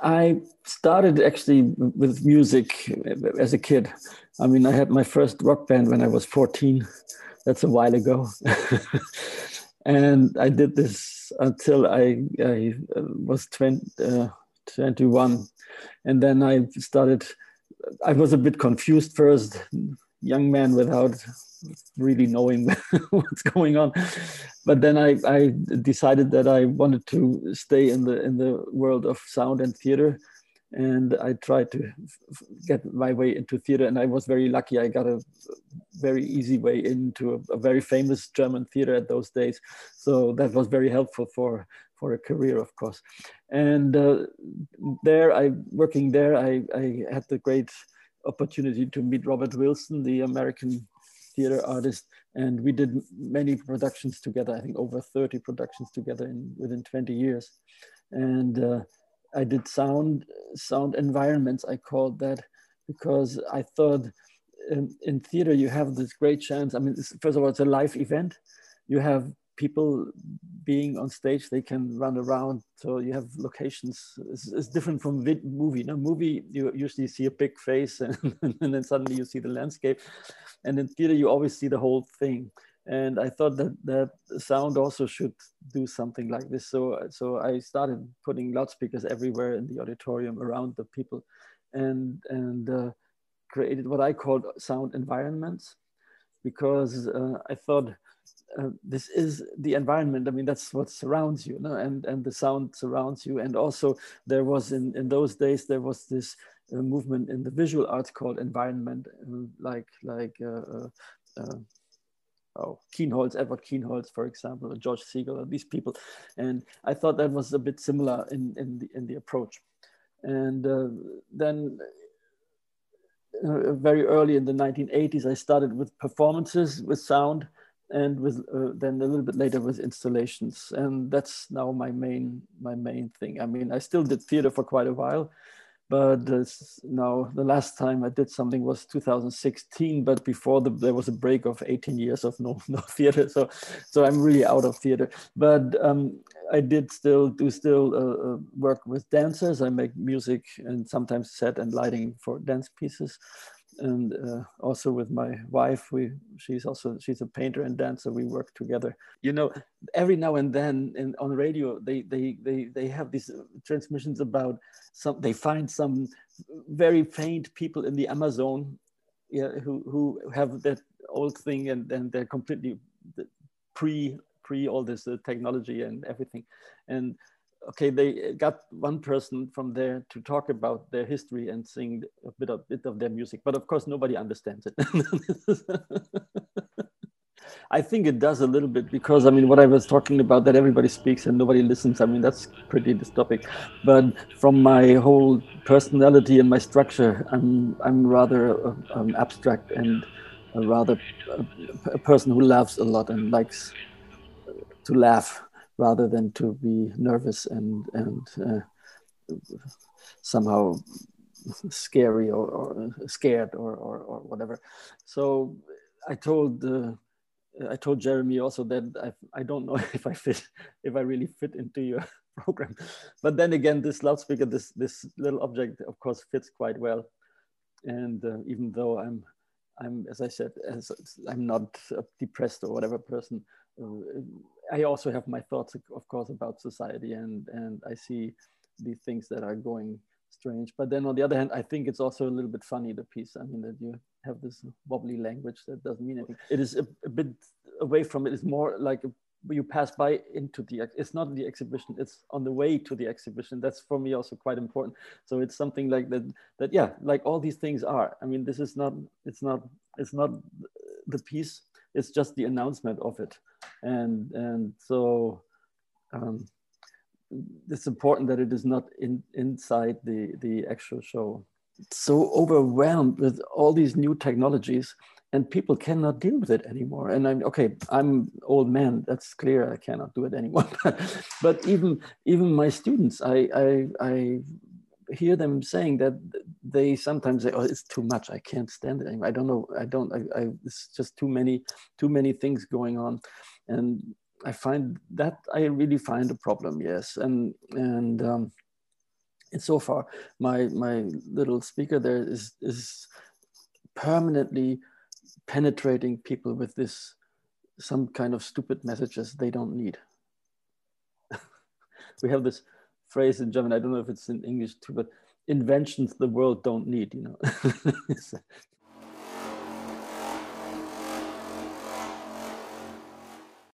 I started actually with music as a kid. I mean, I had my first rock band when I was 14. That's a while ago. And I did this until I was 21. And then I was a bit confused first, young man without really knowing what's going on. But then I decided that I wanted to stay in the world of sound and theater, and I tried to get my way into theater. And I was very lucky. I got a very easy way into a very famous German theater at those days. So that was very helpful for a career, of course. And working there, I had the great opportunity to meet Robert Wilson, the American theater artist, and we did many productions together. I think over 30 productions together within 20 years. And I did sound environments, I called that, because I thought in theater you have this great chance. I mean, first of all, it's a live event. You have people being on stage, they can run around. So you have locations. It's different from movie. In a movie, you usually see a big face and then suddenly you see the landscape. And in theater, you always see the whole thing. And I thought that sound also should do something like this. So I started putting loudspeakers everywhere in the auditorium around the people, and created what I called sound environments, because I thought this is the environment. I mean, that's what surrounds you, no? And the sound surrounds you. And also there was in those days, there was this movement in the visual arts called environment, Kienholz, Edward Kienholz, for example, or George Siegel, or these people. And I thought that was a bit similar in the approach. And then very early in the 1980s, I started with performances with sound, and with then a little bit later with installations. And that's now my main thing. I mean, I still did theater for quite a while, but now the last time I did something was 2016. But before there was a break of 18 years of no theater. So I'm really out of theater. But I did still work with dancers. I make music and sometimes set and lighting for dance pieces. And also with my wife, she's a painter and dancer. We work together. You know, every now and then on radio, they have these transmissions about they find some very faint people in the Amazon, yeah, who have that old thing, and they're completely pre all this technology and everything. And okay, they got one person from there to talk about their history and sing a bit of their music, but of course nobody understands it. I think it does a little bit, because I mean, what I was talking about, that everybody speaks and nobody listens, I mean, that's pretty dystopic. But from my whole personality and my structure, I'm rather abstract, and a person who laughs a lot and likes to laugh rather than to be nervous and somehow scary or scared or whatever. So I told Jeremy also that I don't know if I really fit into your program. But then again, this loudspeaker, this little object, of course, fits quite well. And even though I'm, as I said, I'm not a depressed or whatever person, I also have my thoughts, of course, about society, and I see the things that are going strange. But then on the other hand, I think it's also a little bit funny, the piece. I mean, that you have this wobbly language that doesn't mean anything. It is a bit away from it. It's more like you pass by into it's not the exhibition, it's on the way to the exhibition. That's for me also quite important. So it's something like that, yeah, like all these things are. I mean, this is not, it's not the piece, it's just the announcement of it. And so it's important that it is not inside the actual show. It's so overwhelmed with all these new technologies, and people cannot deal with it anymore. And I'm old man, that's clear, I cannot do it anymore. But even my students, I hear them saying that they sometimes say, oh, it's too much, I can't stand it anymore. I don't know, it's just too many things going on. And I really find a problem, yes. And And so far, my little speaker there is permanently penetrating people with this, some kind of stupid messages they don't need. We have this phrase in German, I don't know if it's in English too, but inventions the world don't need, you know.